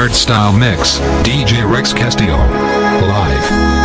Hardstyle Mix, DJ Rex Castillo. Live.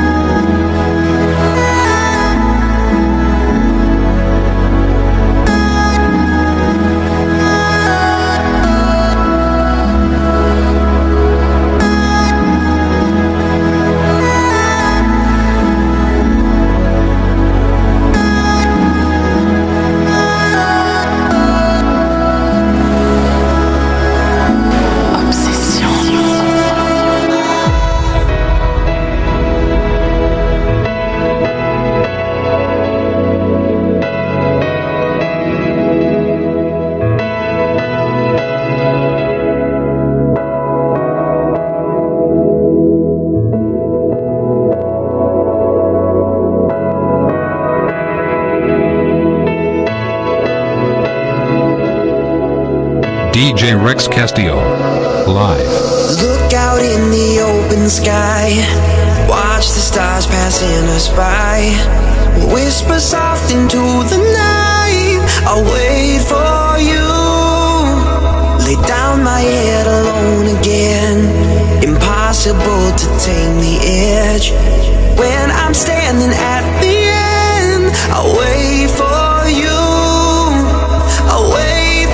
DJ Rex Castillo. Live. Look out in the open sky. Watch the stars passing us by. Whisper soft into the night. I'll wait for you. Lay down my head alone again. Impossible to tame the edge. When I'm standing at the end, I'll wait for you. I'll wait.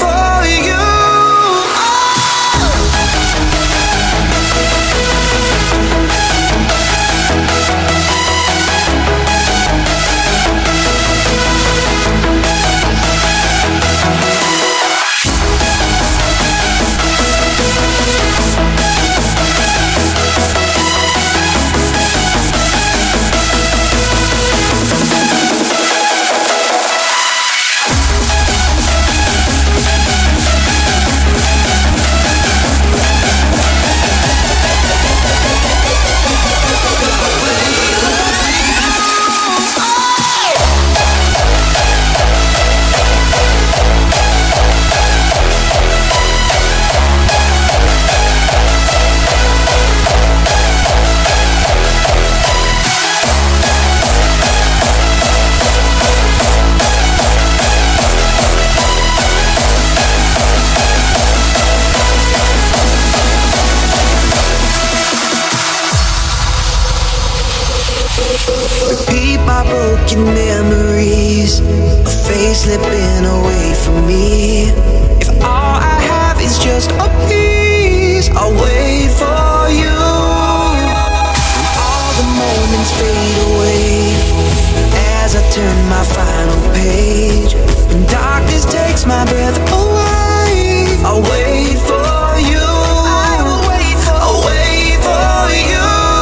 Memories, a face slipping away from me. If all I have is just a piece, I'll wait for you. When all the moments fade away, as I turn my final page, when darkness takes my breath away, I'll wait for you. I'll wait for you.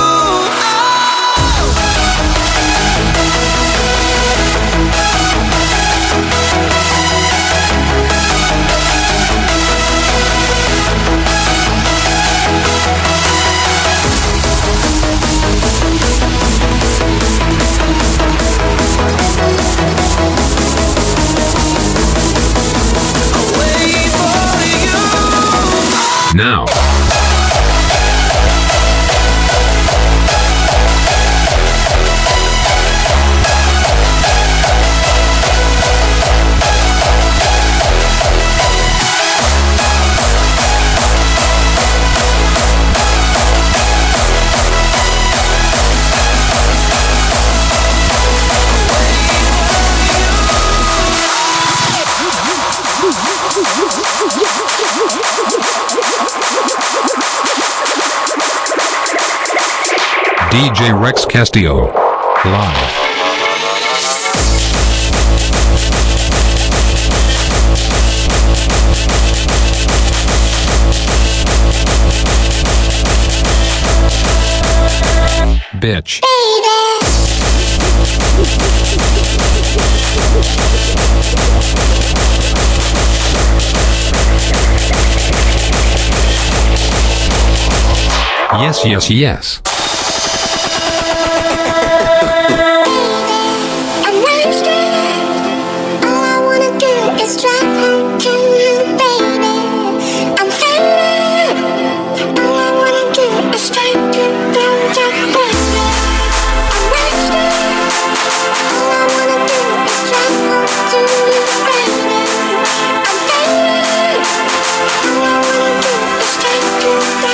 Now. DJ Rex Castillo. Live. Bitch. Yes, yes, yes. Straight to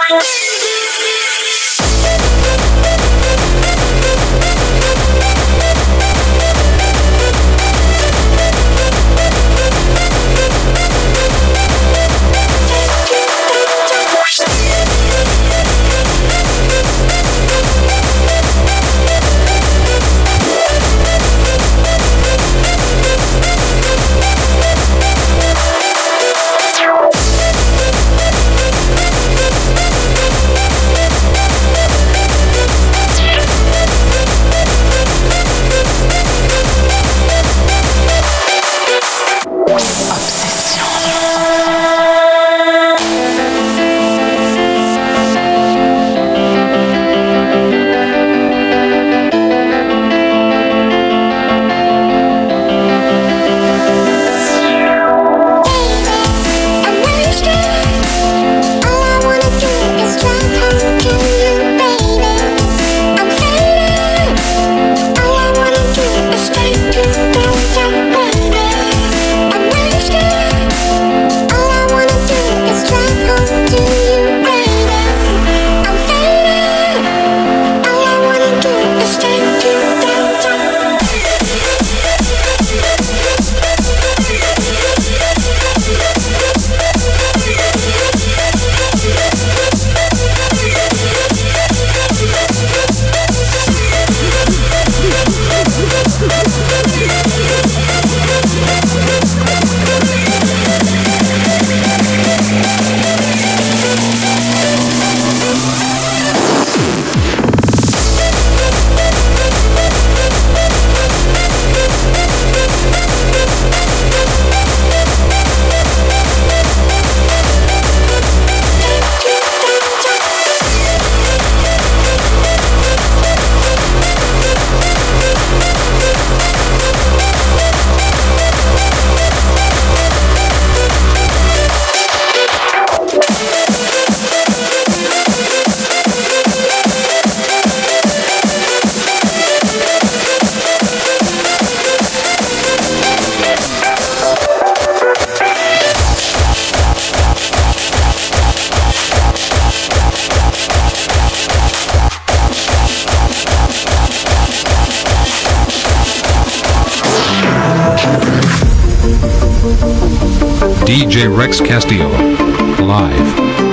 DJ Rex Castillo. Live.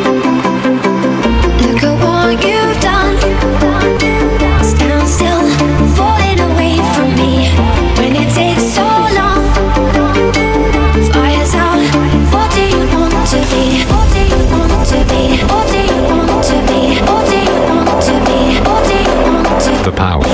Look at what you've done. Stand still, falling away from me. When it takes so long, fire's out. What do you want to be? What do you want to be? What do you want to be? What do you want to be? What do you want to be? The power.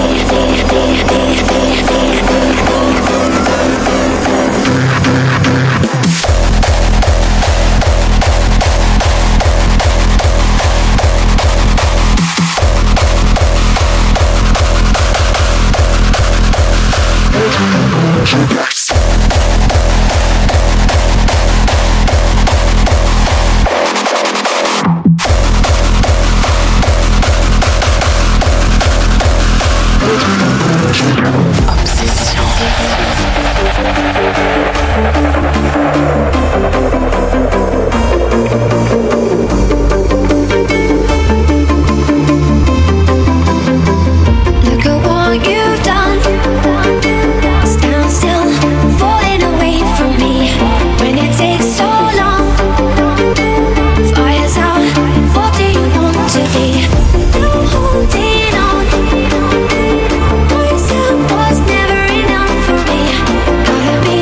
Look at what you've done. Stand still, falling away from me. When it takes so long, fire's out. What do you want to be? I'm holding on. Myself was never enough for me. Gotta be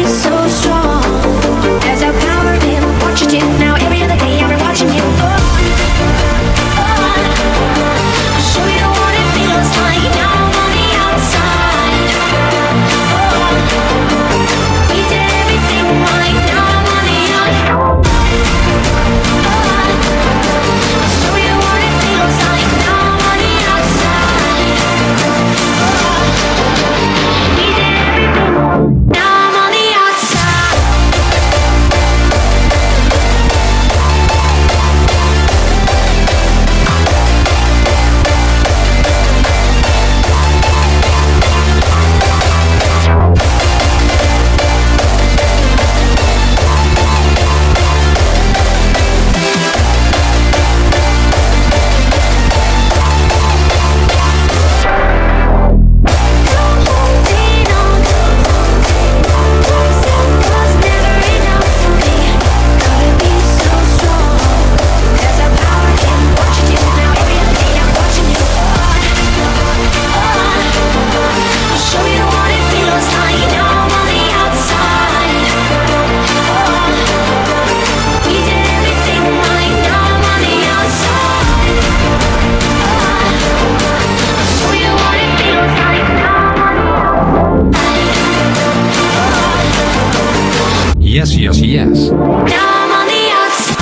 Yes, yes, yes. Now I'm on the outside.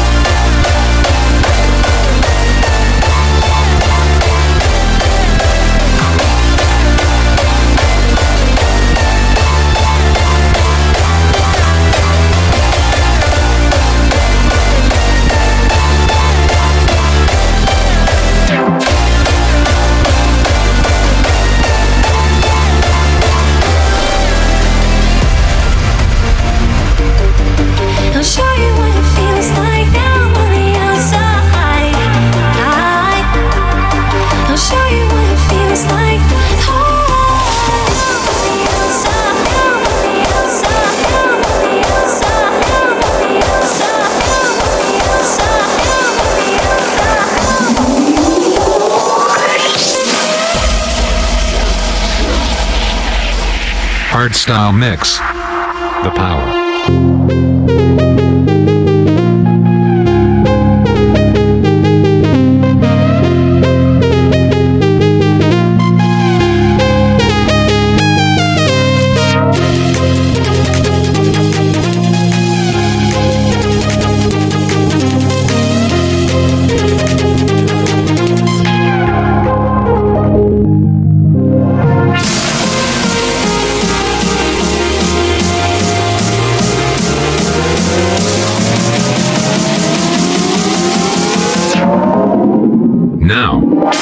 I'll show you what it feels like now I'm on the outside. I'll show you what it feels like. Hardstyle mix. The power. Now.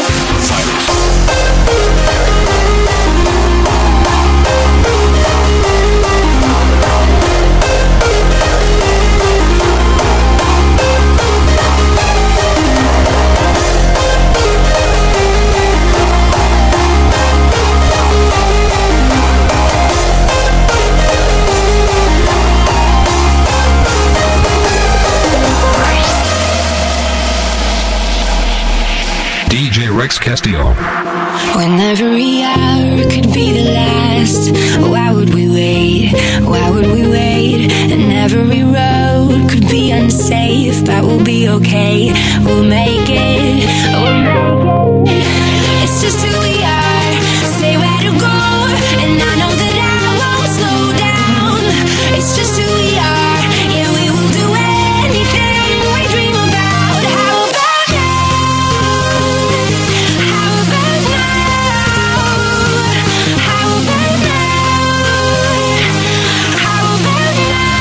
DJ Rex Castillo. When every hour could be the last, why would we wait? Why would we wait? And every road could be unsafe, but we'll be okay. We'll make it. We'll make it. It's just who we are. Say where to go, and I know that I won't slow down. It's just who we are. Yeah, we will do anything we dream about. How about now? How about now? How about now? How about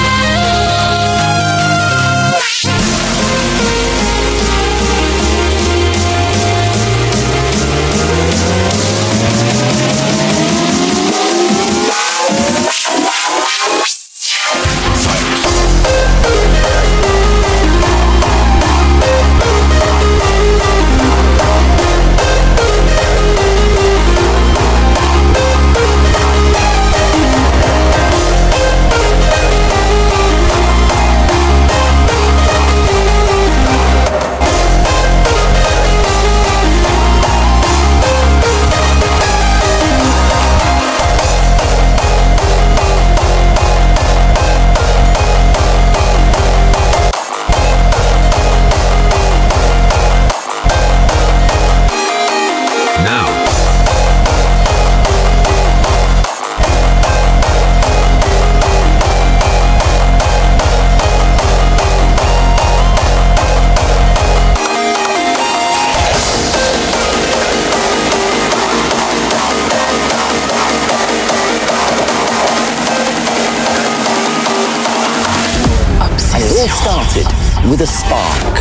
Started with a spark.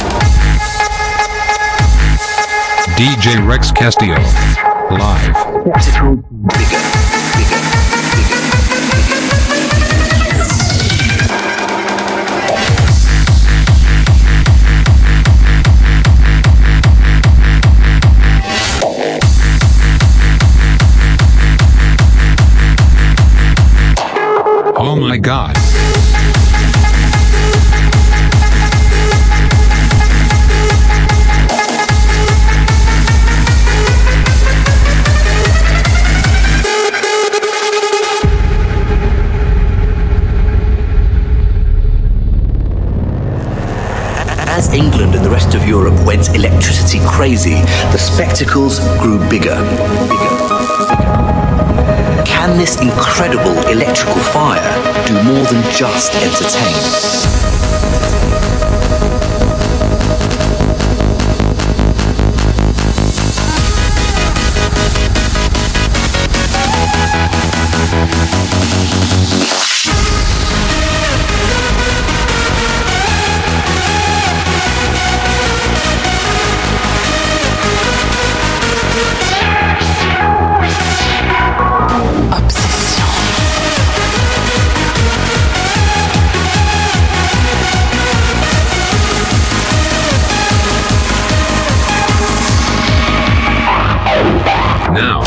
DJ Rex Castillo. Live. Bigger, bigger, Oh my God. As England and the rest of Europe went electricity crazy, the spectacles grew bigger. can this incredible electrical fire do more than just entertain? Now.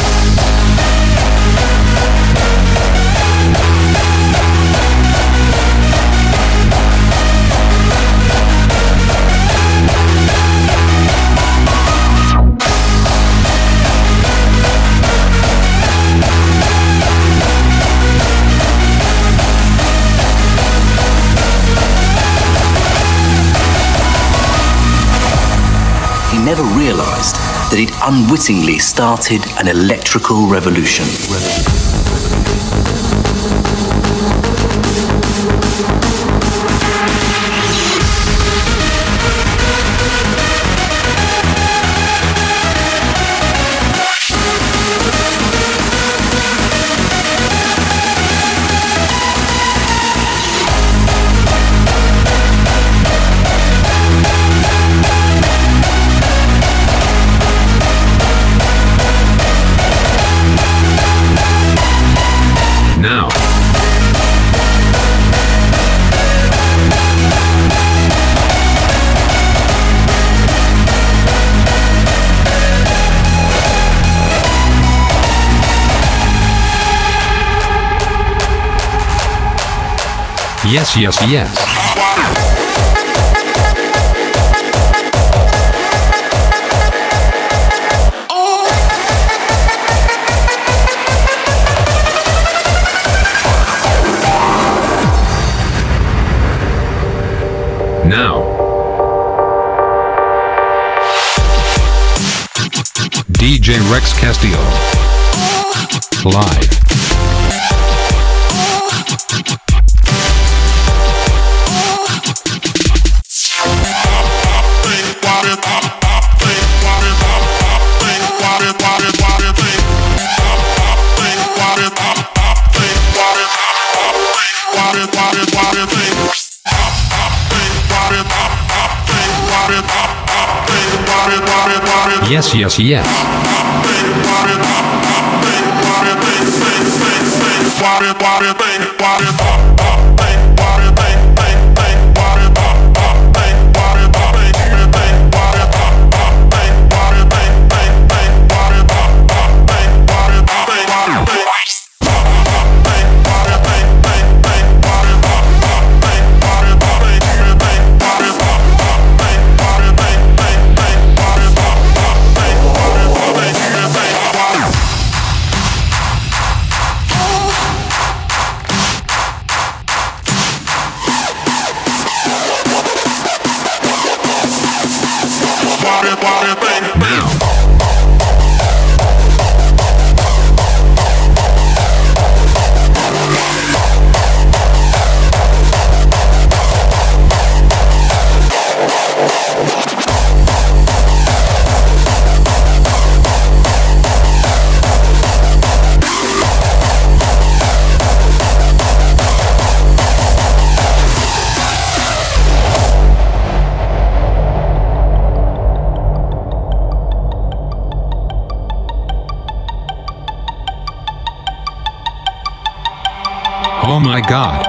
He never realized that he'd unwittingly started an electrical revolution. Now. Yes, yes, yes. Now. DJ Rex Castillo. Live. Yes, yes, yes. Oh my God.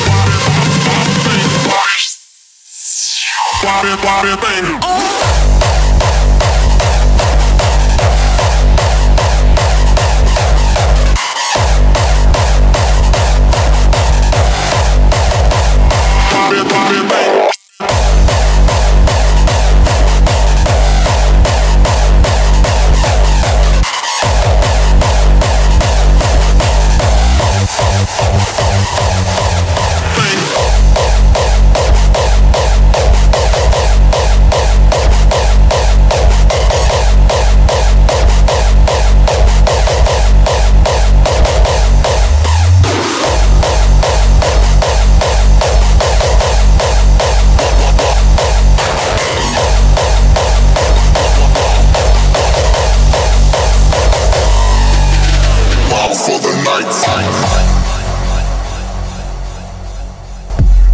What a thing.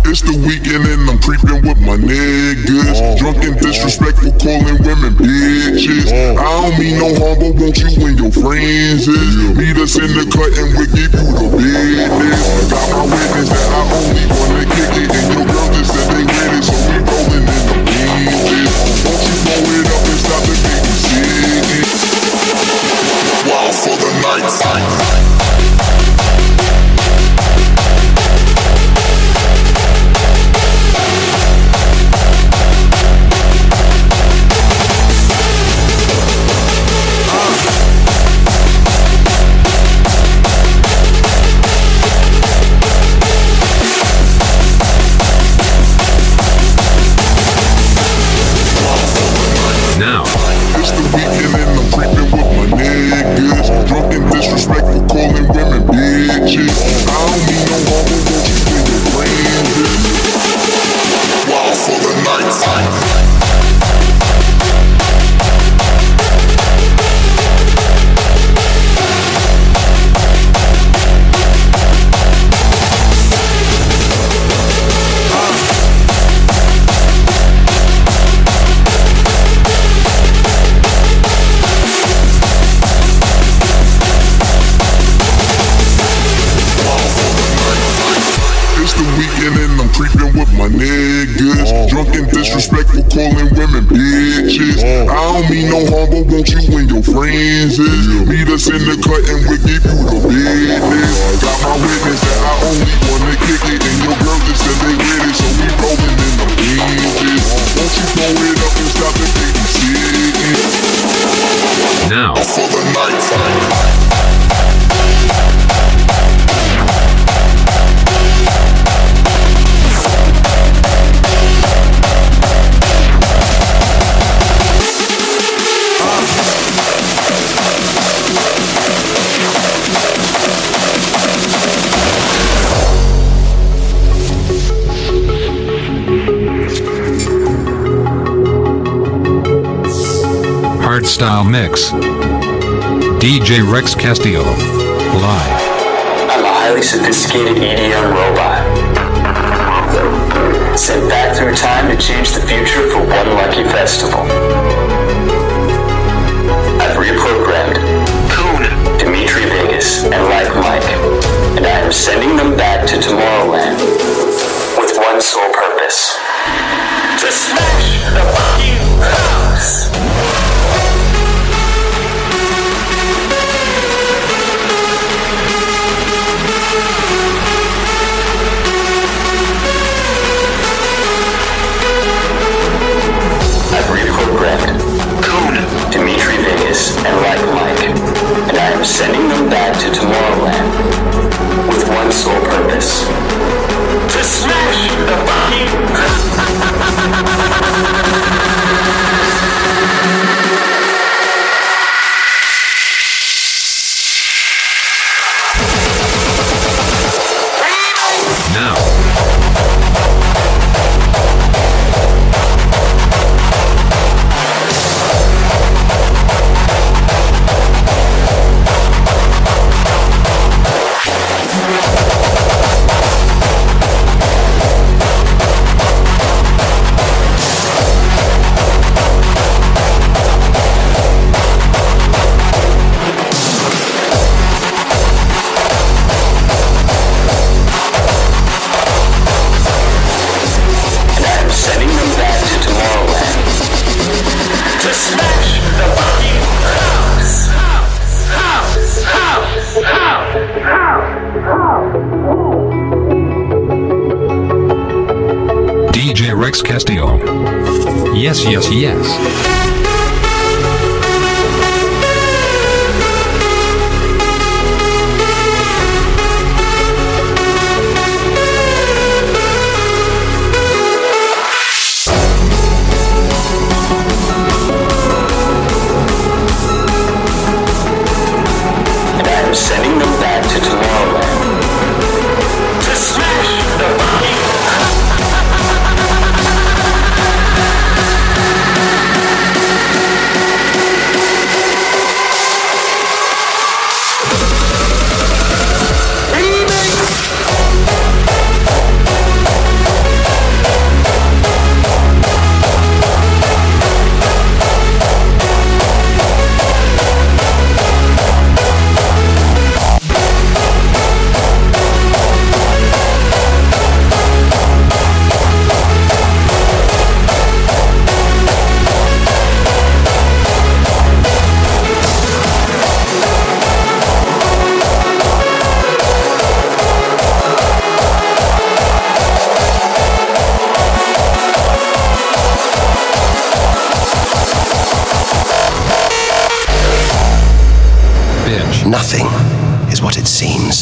It's the weekend and I'm creeping with my niggas. Drunk and disrespectful, calling women bitches. I don't mean no harm, but won't you and your friends is? Meet us in the cut and we'll give you the business. Got my witness that I only wanna kick it, and your girl just said they with it, so we rolling in the beaches. Won't you blow it up and stop the babysitting? Wild for the night. Now, it's the weekend and I'm creeping with my niggas. Drunk and disrespectful, calling women bitches. I don't mean no harm, but won't you and your friends is? Wild for the night. And I'm creeping with my niggas. Drunk and disrespectful, calling women bitches. I don't mean no harm, but won't you and your friends is? Meet us in the cut and we'll give you the business. Got my witness that I only wanna kick it, and your girl just said they with it, so we rolling in the beaches. Won't you blow it up and stop the babysitting? now, For the night. Hardstyle Mix. DJ Rex Castillo. Live. I'm a highly sophisticated EDM robot. Sent back through time to change the future for one lucky festival. I've reprogrammed Coon, Dimitri Vegas, and Like Mike, and I am sending them back to Tomorrowland with one sole purpose: to smash the fucking house. I've reprogrammed Coon, Dimitri Vegas, and Like Mike, and I am sending them back to Tomorrowland with one sole purpose: to smash the fucking Now, DJ Rex Castillo. Yes, yes, yes. sending them back to Tomorrowland to smash the fucking Nothing is what it seems.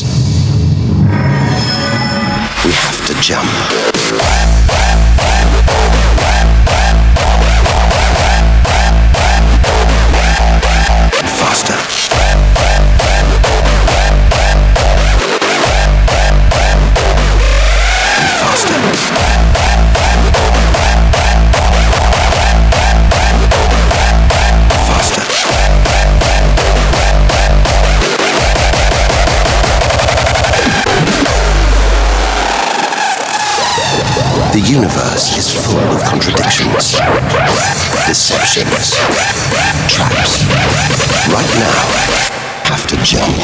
We have to jump. Faster. And faster. Faster. The universe is full of contradictions, deceptions, traps. Right now, have to jump.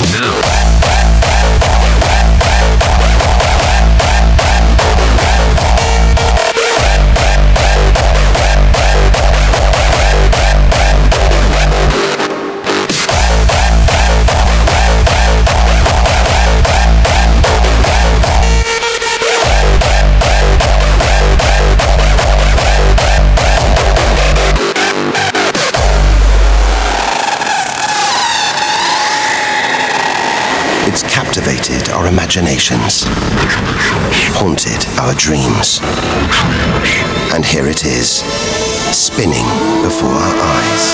It's captivated our imaginations, haunted our dreams. And here it is, spinning before our eyes.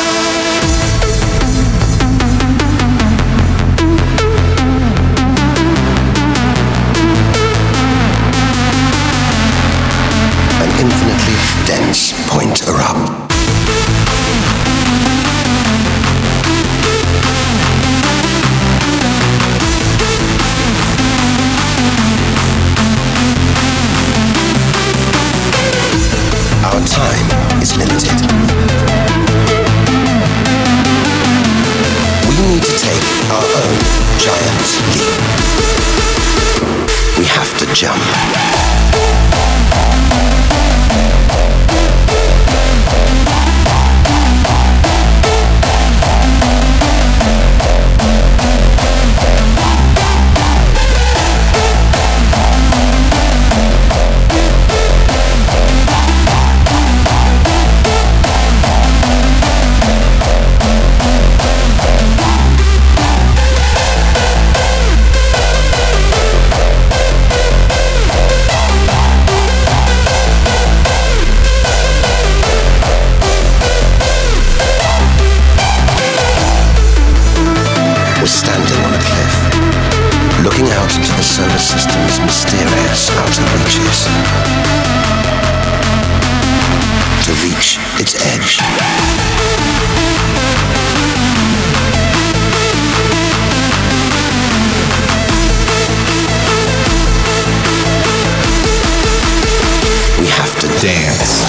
An infinitely dense point erupt. Our time is limited. We need to take our own giant leap. We have to jump. Standing on a cliff, looking out into the solar system's mysterious outer reaches. To reach its edge. We have to dance.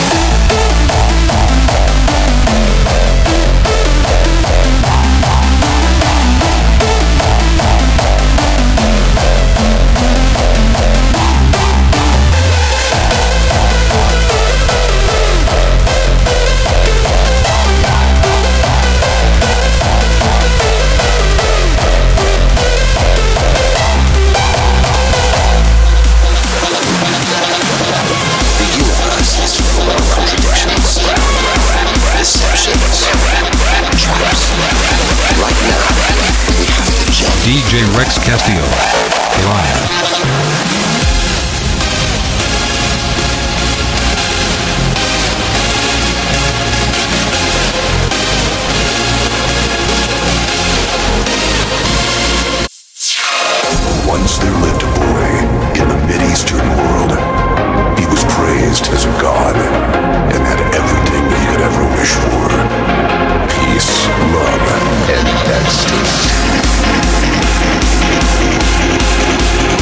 DJ Rex Castillo, live. Once there lived a boy in the Mid-Eastern world. He was praised as a god and had everything he could ever wish for. Peace, love, and destiny.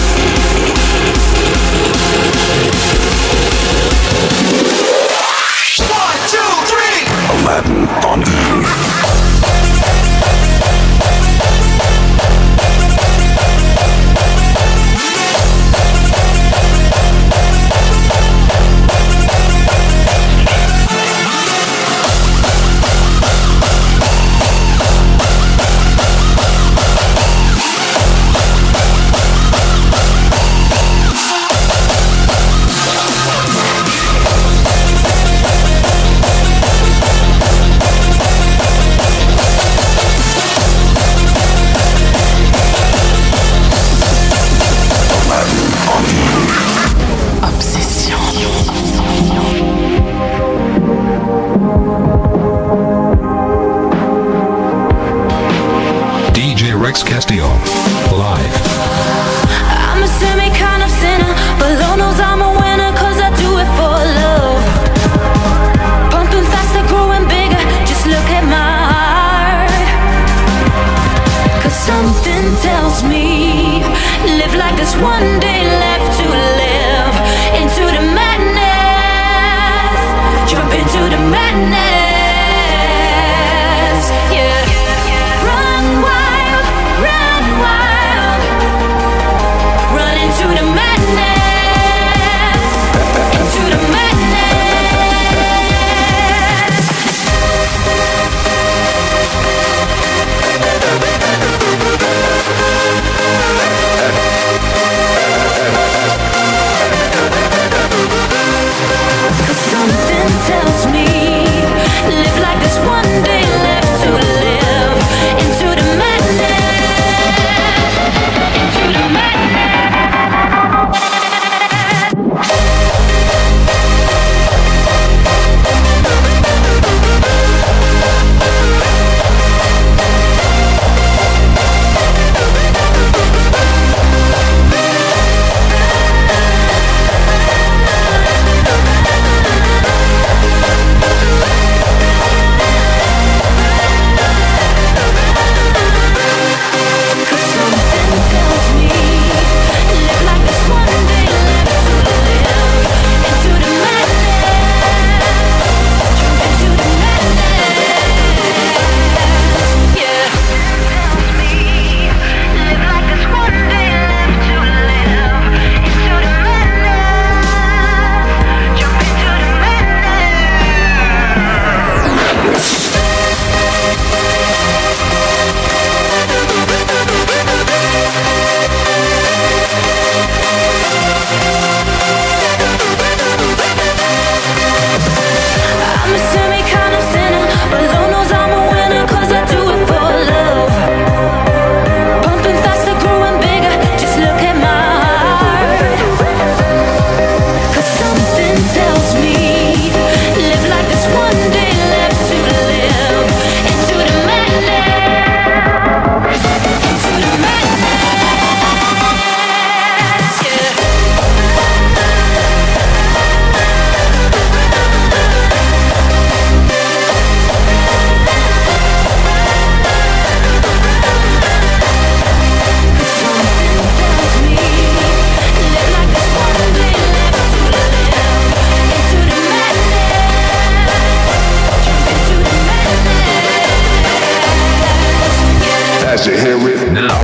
as you hear it. Now.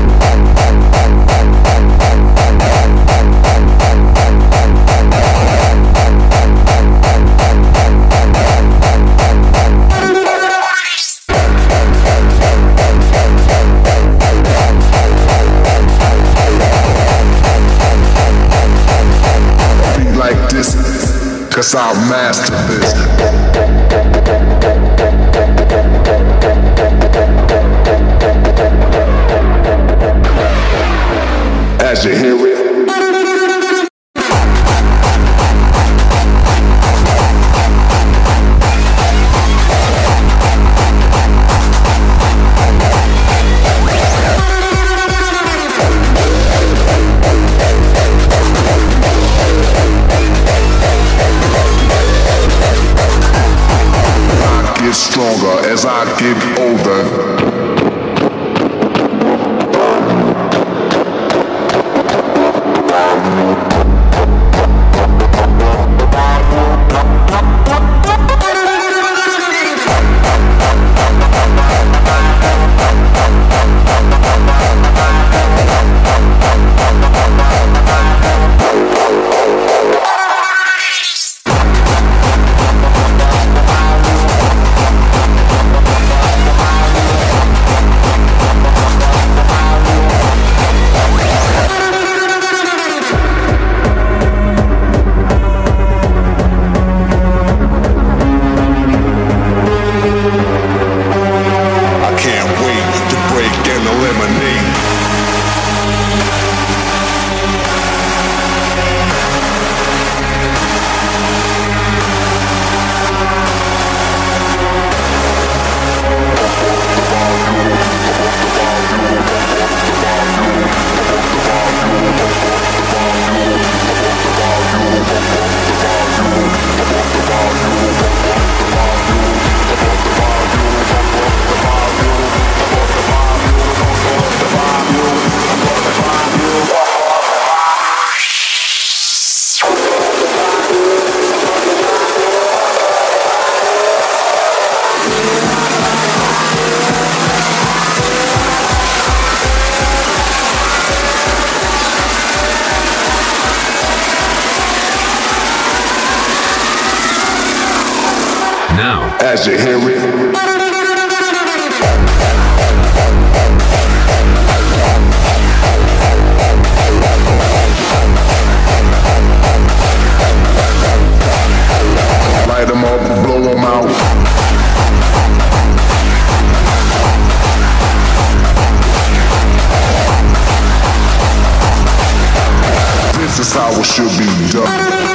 Like this, cause I'll master this. As you hear it. Stronger as I get older. Now, as you hear it. Light them up, blow them out. This is how it should be done.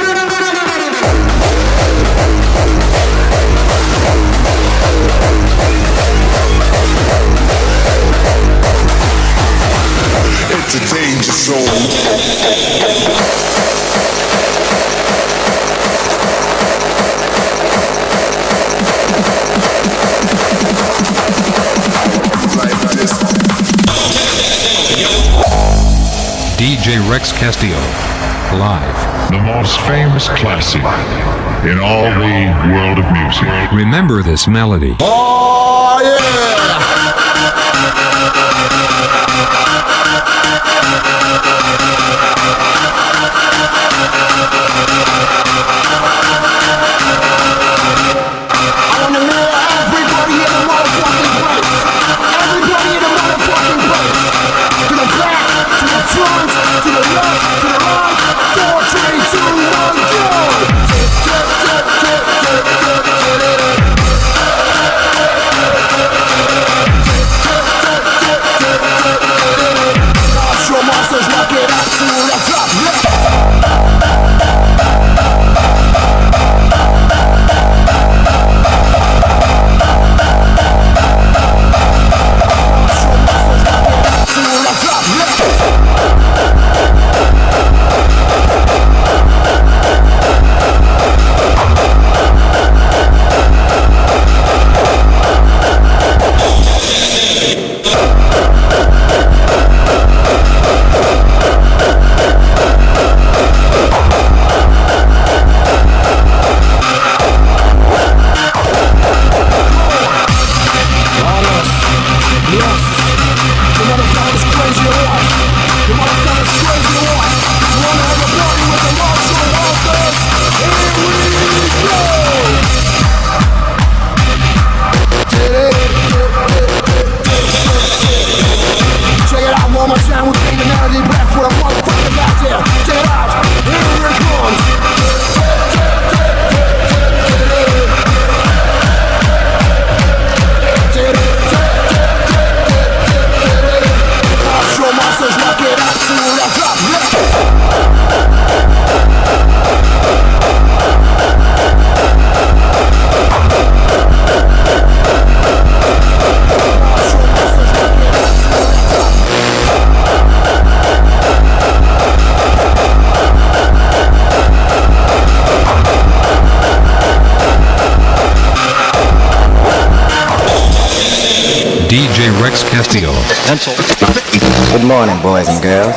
It's a danger zone. Like this. DJ Rex Castillo, live. The most famous classic in all the world of music. Remember this melody. Oh, yeah! pencil. Good morning, boys and girls.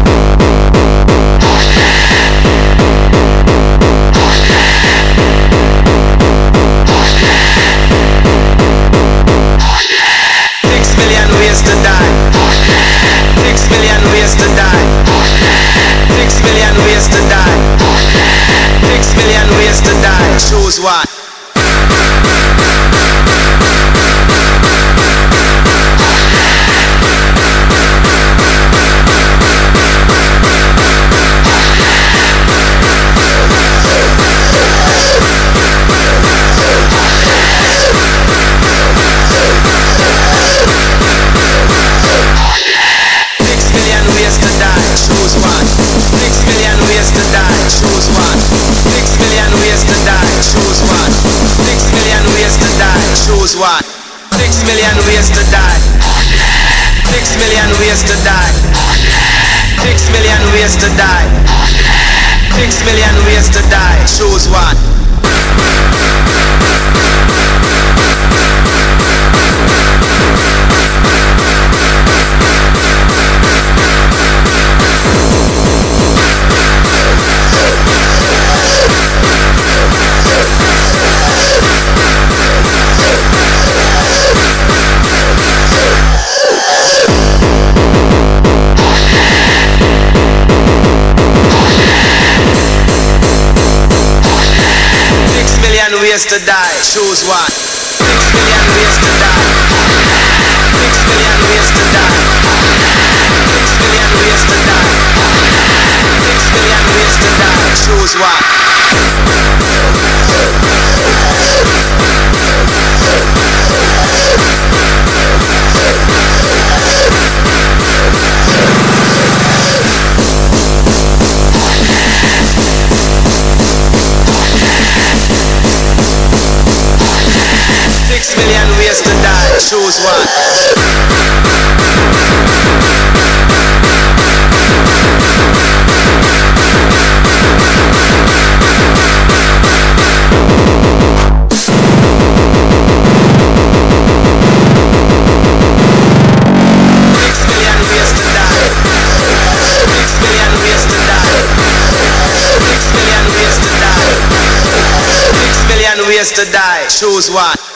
6 million ways to die. 6 million ways to die. 6 million ways to die. 6 million ways to die. Choose one. Choose one. 6 million ways to die. Choose one. 6 million ways to die. Choose one. 6 million ways to die. Choose one. 6 million ways to die. 6 million ways to die. 6 million ways to die. 6 million ways to die. Choose one. Ways to die, choose one. 6 million ways to die. 6 million ways to die. 6 million ways to die. 6 million ways to die, choose one. Ways to die, choose one. 6 million ways to die. 6 million ways to die. 6 million ways to die. 6 million ways to die, choose one.